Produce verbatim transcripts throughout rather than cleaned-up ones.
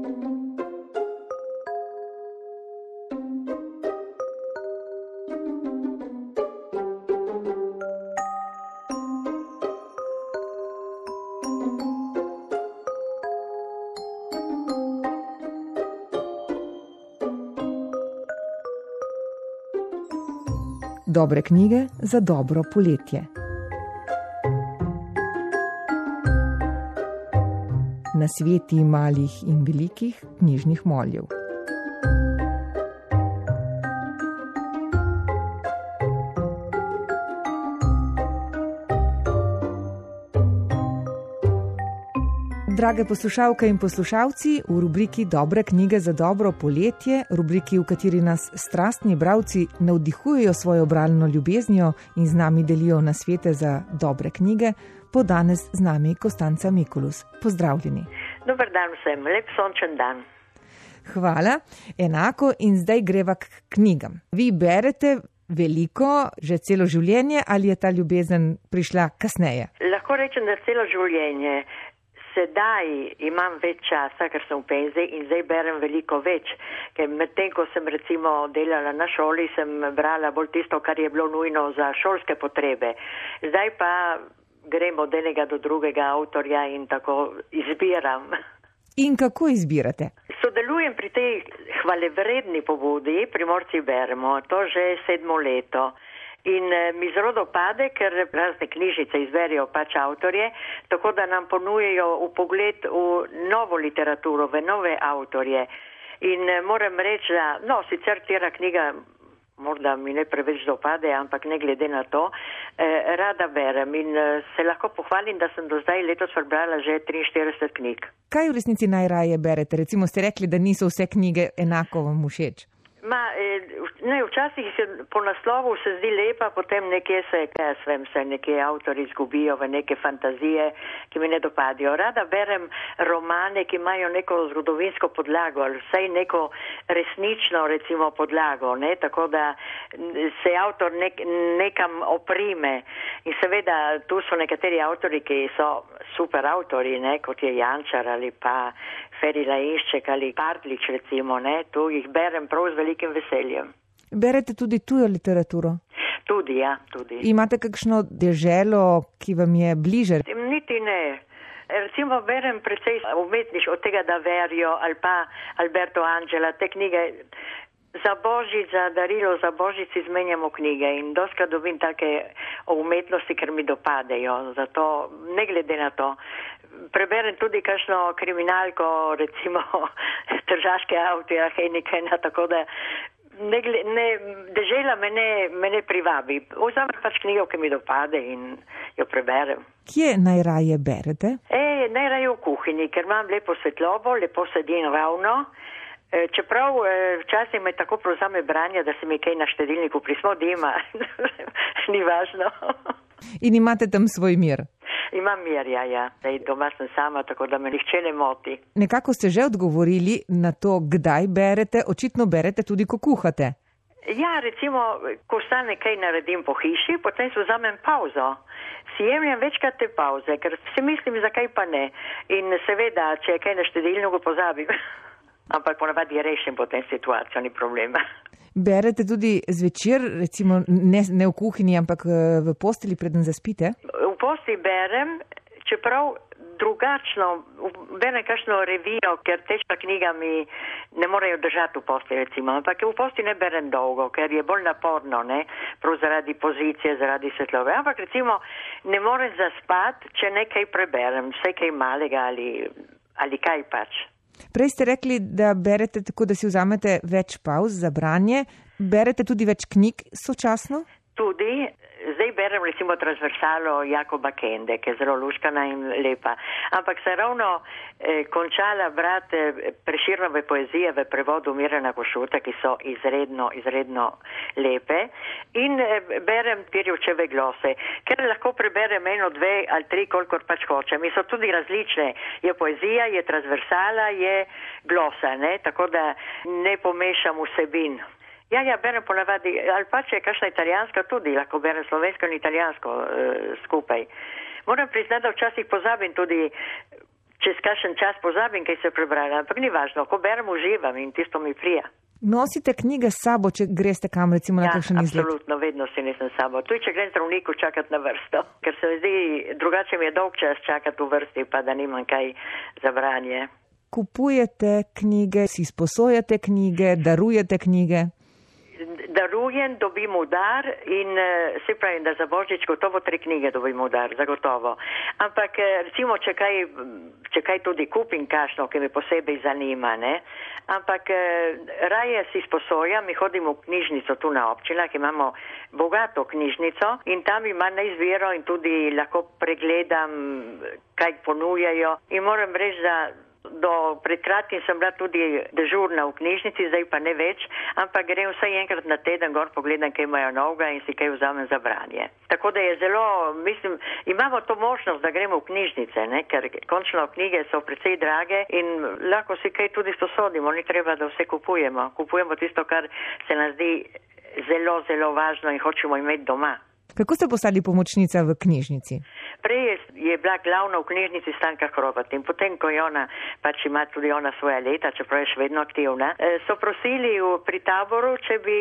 Dobre knjige za dobro poletje. Nasveti malih in velikih knjižnih moljev. Drage poslušalke in poslušalci, v rubriki Dobre knjige za dobro poletje, rubriki, v kateri nas strastni bralci navdihujejo svojo bralno ljubeznijo in z nami delijo nasvete za dobre knjige, bo danes z nami Kostanca Mikulus. Pozdravljeni. Dobar dan vsem, lep sončen dan. Hvala, enako in zdaj greva k knjigam. Vi berete veliko, že celo življenje, ali je ta ljubezen prišla kasneje? Lahko rečem, da celo življenje. Sedaj imam več časa, ker sem v penziji in zdaj berem veliko več, ker medtem, ko sem recimo delala na šoli, sem brala bolj tisto, kar je bilo nujno za šolske potrebe. Zdaj pa grem od enega do drugega avtorja in tako izbiram. In kako izbirate? Sodelujem pri tej hvalevredni pobudi, Primorci beremo, to že sedmo leto. In mi zelo dopade, ker razne knjižnice izberijo pač avtorje, tako da nam ponujejo vpogled v novo literaturo, v nove avtorje. In moram reči, da, no, sicer tera knjiga morda mi ne preveč dopade, ampak ne glede na to, eh, rada berem in se lahko pohvalim, da sem do zdaj letos prebrala že triinštirideset knjig. Kaj v resnici najraje berete? Recimo ste rekli, da niso vse knjige enako vam všeč. Ma, ne, včasih se po naslovu se zdi lepa, potem nekje se, kaj svem, se nekje avtori izgubijo v neke fantazije, ki mi ne dopadijo. Rada berem romane, ki imajo neko zgodovinsko podlago, ali vsaj neko resnično, recimo, podlago, ne, tako da se avtor nek, nekam oprime. In seveda, tu so nekateri avtori, ki so super avtori, ne, kot je Jančar ali pa Feri Lainšček ali Partljič, recimo, ne, tu jih berem prav z velikim veseljem. Berete tudi tujo literaturo? Tudi, ja, tudi. Imate kakšno deželo, ki vam je bliže? Niti ne. Recimo berem precej umetniš od tega Daverijo ali pa Alberto Angela, te knjige za Božič, za darilo, za Božič izmenjamo knjige in doskrat dobim take o umetnosti, ker mi dopadejo, zato ne glede na to. Preberem tudi kakšno kriminalko, recimo tržaške avtorja Henikena, tako da ne, ne, dežela me ne, me ne privabi. Vzamem pač knjigo, ki mi dopade in jo preberem. Kje najraje berete? E, najraje v kuhinji, ker imam lepo svetlobo, lepo sedim ravno. E, čeprav e, včasih me tako prevzame branje, da se mi kaj na štedilniku prismodima. Ni važno. In imate tam svoj mir? Imam mir, ja, ja. Zdaj doma sem sama, tako da me nihče ne moti. Nekako ste že odgovorili na to, kdaj berete, očitno berete tudi, ko kuhate. Ja, recimo, ko stane kaj naredim po hiši, potem si vzamem pauzo. Si jemljem večkrat te pauze, ker si mislim, zakaj pa ne. In seveda, če je kaj na štedilniku, pozabim. Ampak ponavadi rešim potem situacijo, ni problema. Berete tudi zvečer, recimo ne, ne v kuhinji, ampak v posteli, preden zaspite? V posteli berem, čeprav drugačno, berem kakšno revijo, ker težka knjiga mi ne morejo držati v posteli, recimo. Ampak v posteli ne berem dolgo, ker je bolj naporno, ne, prav zaradi pozicije, zaradi svetlove. Ampak recimo ne morem zaspati, če nekaj preberem, vse kaj malega ali, ali kaj pač. Prej ste rekli, da berete tako, da si vzamete več pauz za branje. Berete tudi več knjig sočasno? Tudi. Zdaj berem recimo transversalo Jakoba Kende, ki je zelo luškana in lepa. Ampak sem ravno eh, končala brati Prešernove poezije v prevodu Mirana Košuta, ki so izredno, izredno lepe. In eh, berem Pirjevčeve glose, ker lahko preberem eno, dve ali tri, kolikor pač hočem. In so tudi različne. Je poezija, je transversala, je glosa, ne? Tako da ne pomešam vsebin. Ja, ja, berem ponavadi, ali pa če je kakšna italijanska tudi, lahko berem slovensko in italijansko uh, skupaj. Moram priznati, da včasih pozabim tudi, čez kakšen čas pozabim, kaj se prebrala, ampak ni važno, ko berem, uživam in tisto mi prija. Nosite knjige s sabo, če greste kam, recimo na ja, kakšen izlet? Absolutno, vedno si nisem s sabo. Tudi, če grem zdravniku čakati na vrsto, ker se mi zdi, drugače mi je dolg čas čakati v vrsti, pa da nimam kaj za branje. Kupujete knjige, si sposojate knjige, darujete knjige? Darujem, dobim udar in se pravi, da za Božič gotovo tri knjige dobim udar, zagotovo. Ampak recimo, če kaj, če kaj tudi kupim kašno, ki me posebej zanima, ne? Ampak raje si sposojam, mi hodimo v knjižnico tu na občinah, imamo bogato knjižnico in tam ima na izbiro in tudi lahko pregledam, kaj ponujajo. In moram reči, da do pred kratkim sem bila tudi dežurna v knjižnici, zdaj pa ne več, ampak grem vsaj enkrat na teden gor pogledam, kaj imajo novega in si kaj vzamem za branje. Tako da je zelo, mislim, imamo to možnost, da gremo v knjižnice, ne? Ker končno knjige so precej drage in lahko si kaj tudi sposodimo, ni treba, da vse kupujemo. Kupujemo tisto, kar se nam zdi zelo, zelo važno in hočemo imeti doma. Kako ste postali pomočnica v knjižnici? Prej je bila glavna v knjižnici Stanka Hrovat in potem, ko je ona, pač ima tudi ona svoja leta, čeprav je še vedno aktivna, so prosili pri taboru, če bi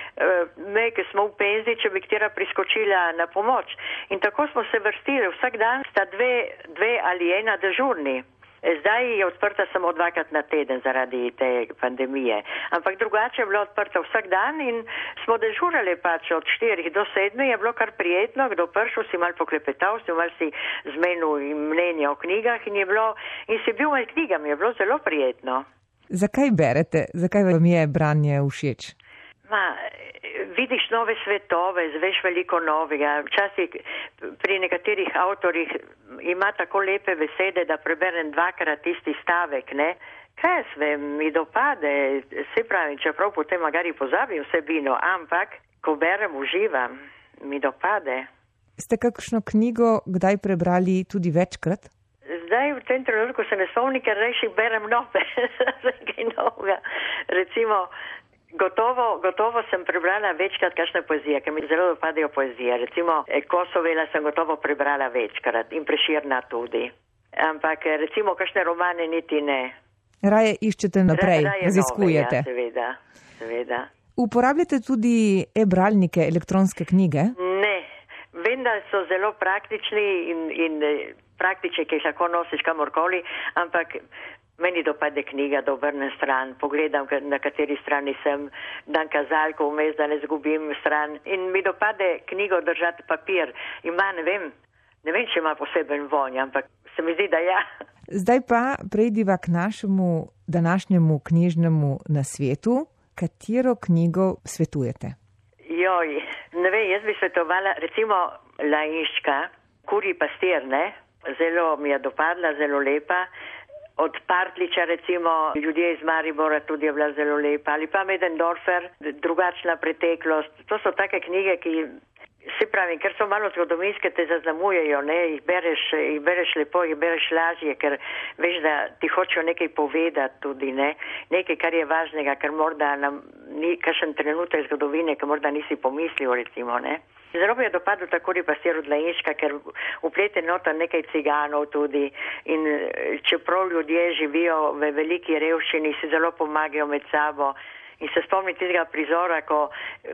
me, ki smo v penziji, če bi katera priskočila na pomoč. In tako smo se vrstili, vsak dan sta dve, dve ali ena dežurni. Zdaj je odprta samo dvakrat na teden zaradi te pandemije, ampak drugače je bilo odprta vsak dan in smo dežurali pač od štirih do sedmih, je bilo kar prijetno, kdo prišel, si mal poklepetal, si mal si zmenil mnenje o knjigah in je bilo, in si bil med knjigami, je bilo zelo prijetno. Zakaj berete? Zakaj vam je branje všeč? Ma, vidiš nove svetove, zveš veliko novega. Včasih pri nekaterih avtorjih ima tako lepe besede, da preberem dvakrat tisti stavek, ne? Kaj jaz vem, mi dopade, se pravi, čeprav potem magari pozabim vsebino, ampak ko berem, uživam, mi dopade. Ste kakšno knjigo kdaj prebrali tudi večkrat? Zdaj v tem trenutku se ne spomnim, ker rejši berem nove, nekaj novega. Recimo, Gotovo, gotovo sem prebrala večkrat kakšne poezije, ker mi zelo dopadajo poezije. Recimo Kosovela sem gotovo prebrala večkrat in Preširna tudi. Ampak recimo kakšne romane niti ne. Raje iščete naprej, Raje raziskujete. Nove, ja, seveda, seveda. Uporabljate tudi e-bralnike, elektronske knjige? Ne, vem, da so zelo praktični in, in praktični, ki jih lahko nosiš kamorkoli, ampak meni dopade knjiga, da obrnem stran, pogledam, na kateri strani sem, dam kazalko vmes, da ne zgubim stran. In mi dopade knjigo držati papir. Ima, ne vem, ne vem, če ima poseben vonj, ampak se mi zdi, da ja. Zdaj pa prejdiva k našemu današnjemu knjižnemu nasvetu. Katero knjigo svetujete? Joj, ne vem, jaz bi svetovala recimo Lainška, Kurji pastir, ne? Zelo mi je dopadla, zelo lepa. Od Partliča recimo, Ljudje iz Maribora tudi je bila zelo lepa, ali pa Medendorfer, Drugačna preteklost. To so take knjige, ki se pravi, ker so malo zgodovinske, te zaznamujejo, ne, jih bereš, jih bereš lepo, jih bereš lažje, ker veš, da ti hočejo nekaj povedati tudi, ne, nekaj, kar je važnega, ker morda nam ni kakšen trenutek zgodovine, ker morda nisi pomislil, recimo, ne. Zelo mi je dopadlo tako pastir od Lainška, ker uplete nota nekaj ciganov tudi in čeprav ljudje živijo v veliki revščini, si zelo pomagajo med sabo in se spomni tistega prizora, ko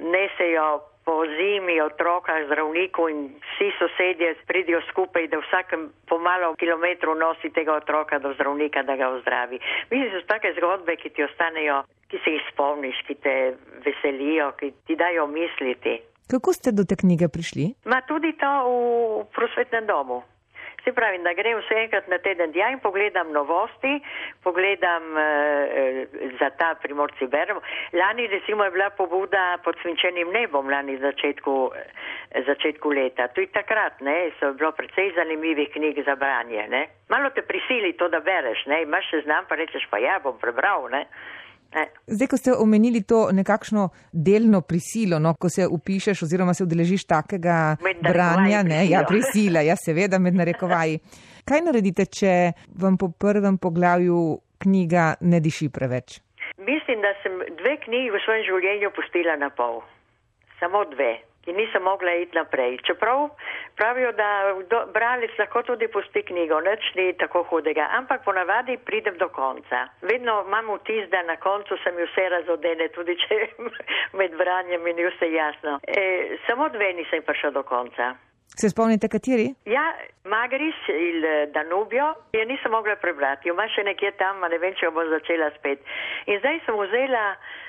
nesejo po zimi otroka zdravniku in vsi sosedje pridijo skupaj, da vsakem pomalo kilometru nosi tega otroka do zdravnika, da ga ozdravi. Mislim, da so take zgodbe, ki ti ostanejo, ki se jih spomniš, ki te veselijo, ki ti dajo misliti. Kako ste do te knjige prišli? Ma tudi to v prosvetnem domu. Se pravi, da grem vse enkrat na teden tja in pogledam novosti, pogledam e, za ta Primorci beremo. Lani recimo je bila pobuda Pod svinčenim nebom, lani začetku, začetku leta. Tudi takrat, ne, so bilo precej zanimivih knjig za branje, ne. Malo te prisili to, da bereš, ne, imaš se znam, pa rečeš, pa ja, bom prebral, ne. Ne. Zdaj, ko ste omenili to nekakšno delno prisilo, no, ko se upišeš oziroma se udeležiš takega branja, ne, ja, prisila, ja, seveda med narekovaji. Kaj naredite, če vam po prvem poglavju knjiga ne diši preveč? Mislim, da sem dve knjigi v svojem življenju pustila na pol. Samo dve. ki nisem mogla iti naprej. Čeprav pravijo, da do, bralec lahko tudi pusti knjigo, nič ni tako hudega, ampak ponavadi pridem do konca. Vedno imam vtis, da na koncu se mi vse razodene, tudi če med branjem mi ni vse jasno. E, samo dve nisem prišla do konca. Se spomnite kateri? Ja, Magris il Danubio, je nisem mogla prebrati, jo ima še nekje tam, a ne vem, če jo bo začela spet. In zdaj sem vzela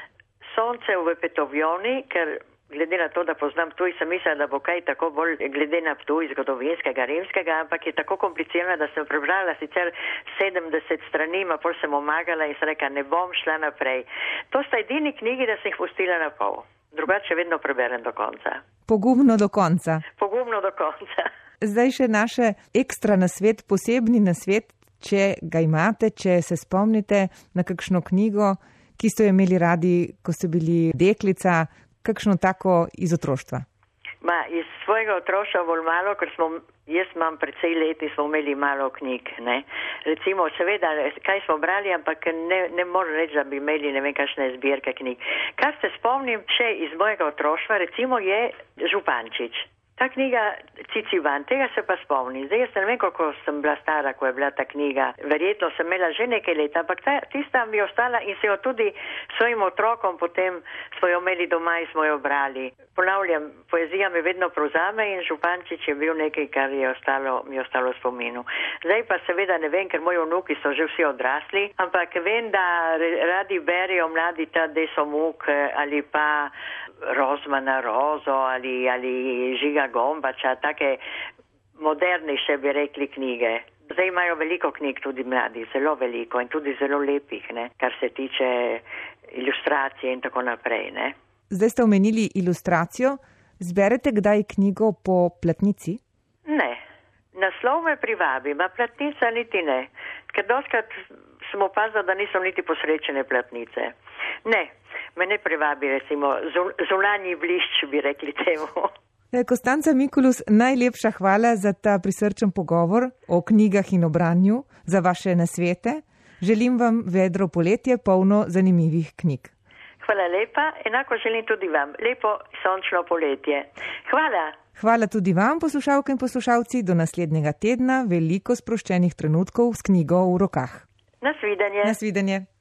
Sonce v Petovjoni, ker glede na to, da poznam Ptuj, sem mislila, da bo kaj tako bolj glede na Ptuj zgodovinskega, rimskega, ampak je tako komplicirano, da sem prebrala sicer sedemdeset strani, ma pol sem omagala in sem rekla, ne bom šla naprej. To sta edini knjigi, da sem jih pustila na pol. Drugače vedno preberem do konca. Pogumno do konca. Pogumno do konca. Zdaj še naše ekstra nasvet, posebni nasvet, če ga imate, če se spomnite na kakšno knjigo, ki ste jo imeli radi, ko ste bili deklica, kakšno tako iz otroštva? Ma, iz svojega otroštva bolj malo, ker smo, jaz imam precej leti, smo imeli malo knjig, ne. Recimo, seveda, kaj smo brali, ampak ne, ne moram reči, da bi imeli ne vem kakšne zbirke knjig. Kar se spomnim še iz mojega otroštva, recimo je Župančič. Ta knjiga Ciciban, tega se pa spomnim. Zdaj jaz ne vem, koliko sem bila stara, ko je bila ta knjiga. Verjetno sem imela že nekaj let, ampak ta, tista mi je ostala in se jo tudi svojim otrokom potem smo jo imeli doma in smo jo brali. Ponavljam, poezija me vedno prevzame in Župančič je bil nekaj, kar je ostalo, mi je ostalo v spominu. Zdaj pa seveda ne vem, ker moji vnuki so že vsi odrasli, ampak vem, da radi berijo mladi ta Deso Muk ali pa Rozmana Rozo ali, ali Žiga Gombača, take modernejše bi rekli knjige. Zdaj imajo veliko knjig tudi mladi, zelo veliko in tudi zelo lepih, ne, kar se tiče ilustracije in tako naprej. Ne. Zdaj ste omenili ilustracijo. Zberete kdaj knjigo po platnici? Ne. Naslov me privabi, ma platnica niti ne. Ker doskrat sem opazila, da niso niti posrečene platnice. Ne. Me ne privabi, recimo, zunanji blišč, bi rekli temu. Konstanca Mikulus, najlepša hvala za ta prisrčen pogovor o knjigah in o branju, za vaše nasvete. Želim vam vedro poletje, polno zanimivih knjig. Hvala lepa, enako želim tudi vam. Lepo sončno poletje. Hvala. Hvala tudi vam, poslušalke in poslušalci. Do naslednjega tedna veliko sproščenih trenutkov s knjigo v rokah. Nasvidenje. Nasvidenje.